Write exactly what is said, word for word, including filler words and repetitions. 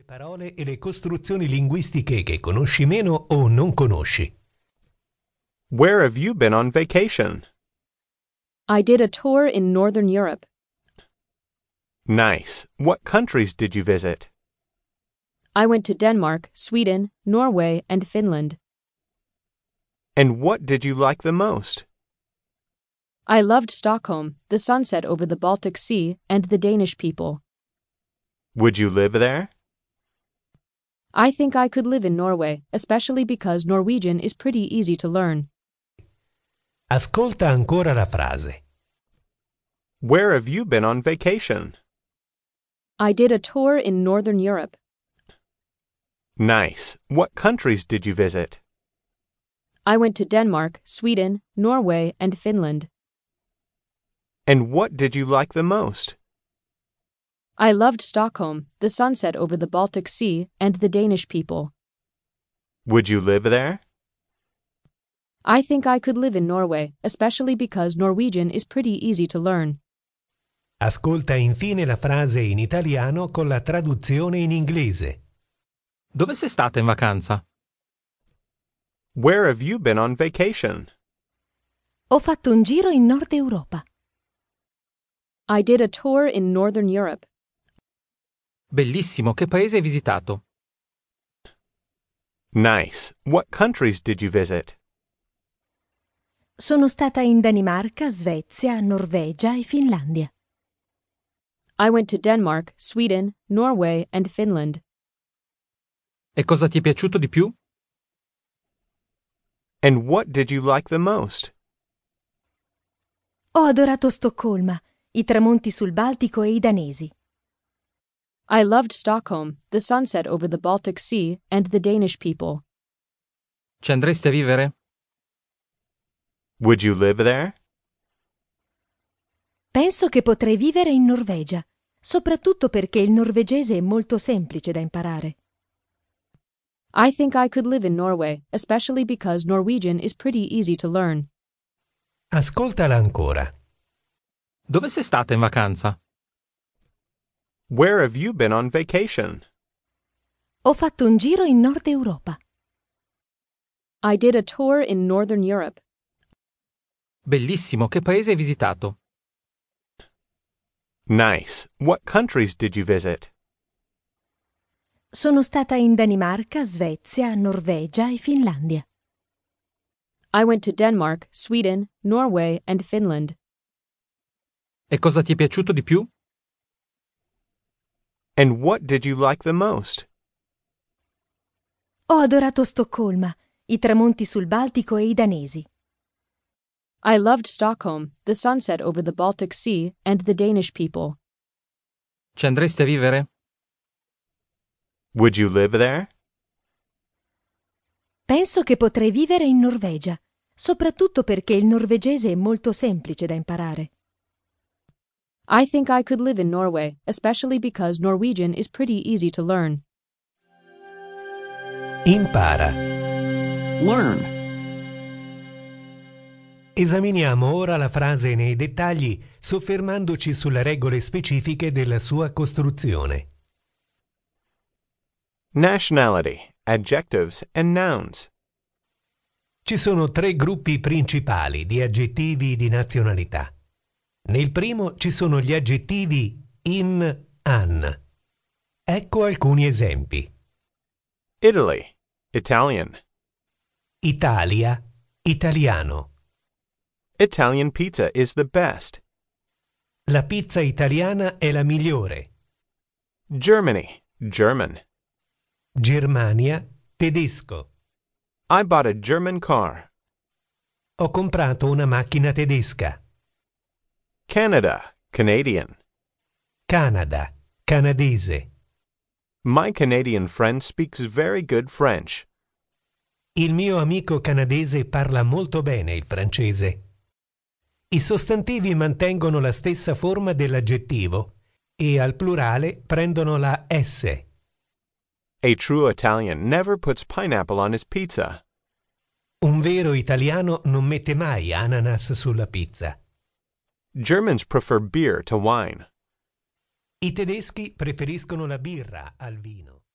parole e le costruzioni linguistiche che conosci meno o non conosci. Where have you been on vacation? I did a tour in Northern Europe. Nice. What countries did you visit? I went to Denmark, Sweden, Norway, and Finland. And what did you like the most? I loved Stockholm, the sunset over the Baltic Sea, and the Danish people. Would you live there? I think I could live in Norway, especially because Norwegian is pretty easy to learn. Ascolta ancora la frase. Where have you been on vacation? I did a tour in Northern Europe. Nice. What countries did you visit? I went to Denmark, Sweden, Norway, and Finland. And what did you like the most? I loved Stockholm, the sunset over the Baltic Sea, and the Danish people. Would you live there? I think I could live in Norway, especially because Norwegian is pretty easy to learn. Ascolta infine la frase in italiano con la traduzione in inglese. Dove sei stata in vacanza? Where have you been on vacation? Ho fatto un giro in Nord Europa. I did a tour in Northern Europe. Bellissimo, che paese hai visitato? Nice. What countries did you visit? Sono stata in Danimarca, Svezia, Norvegia e Finlandia. I went to Denmark, Sweden, Norway, and Finland. E cosa ti è piaciuto di più? And what did you like the most? Ho adorato Stoccolma, i tramonti sul Baltico e i danesi. I loved Stockholm, the sunset over the Baltic Sea, and the Danish people. Ci andresti a vivere? Would you live there? Penso che potrei vivere in Norvegia, soprattutto perché il norvegese è molto semplice da imparare. I think I could live in Norway, especially because Norwegian is pretty easy to learn. Ascoltala ancora. Dove sei stata in vacanza? Where have you been on vacation? Ho fatto un giro in Nord Europa. I did a tour in Northern Europe. Bellissimo, che paese hai visitato? Nice. What countries did you visit? Sono stata in Danimarca, Svezia, Norvegia e Finlandia. I went to Denmark, Sweden, Norway, and Finland. E cosa ti è piaciuto di più? And what did you like the most? Ho adorato Stoccolma, i tramonti sul Baltico e i danesi. I loved Stockholm, the sunset over the Baltic Sea, and the Danish people. Ci andresti a vivere? Would you live there? Penso che potrei vivere in Norvegia, soprattutto perché il norvegese è molto semplice da imparare. I think I could live in Norway, especially because Norwegian is pretty easy to learn. Impara. Learn. Esaminiamo ora la frase nei dettagli, soffermandoci sulle regole specifiche della sua costruzione. Nationality, adjectives and nouns. Ci sono tre gruppi principali di aggettivi di nazionalità. Nel primo ci sono gli aggettivi in, an. Ecco alcuni esempi. Italy, Italian. Italia, italiano. Italian pizza is the best. La pizza italiana è la migliore. Germany, German. Germania, tedesco. I bought a German car. Ho comprato una macchina tedesca. Canada, Canadian. Canada, canadese. My Canadian friend speaks very good French. Il mio amico canadese parla molto bene il francese. I sostantivi mantengono la stessa forma dell'aggettivo e al plurale prendono la S. A true Italian never puts pineapple on his pizza. Un vero italiano non mette mai ananas sulla pizza. Germans prefer beer to wine. I tedeschi preferiscono la birra al vino.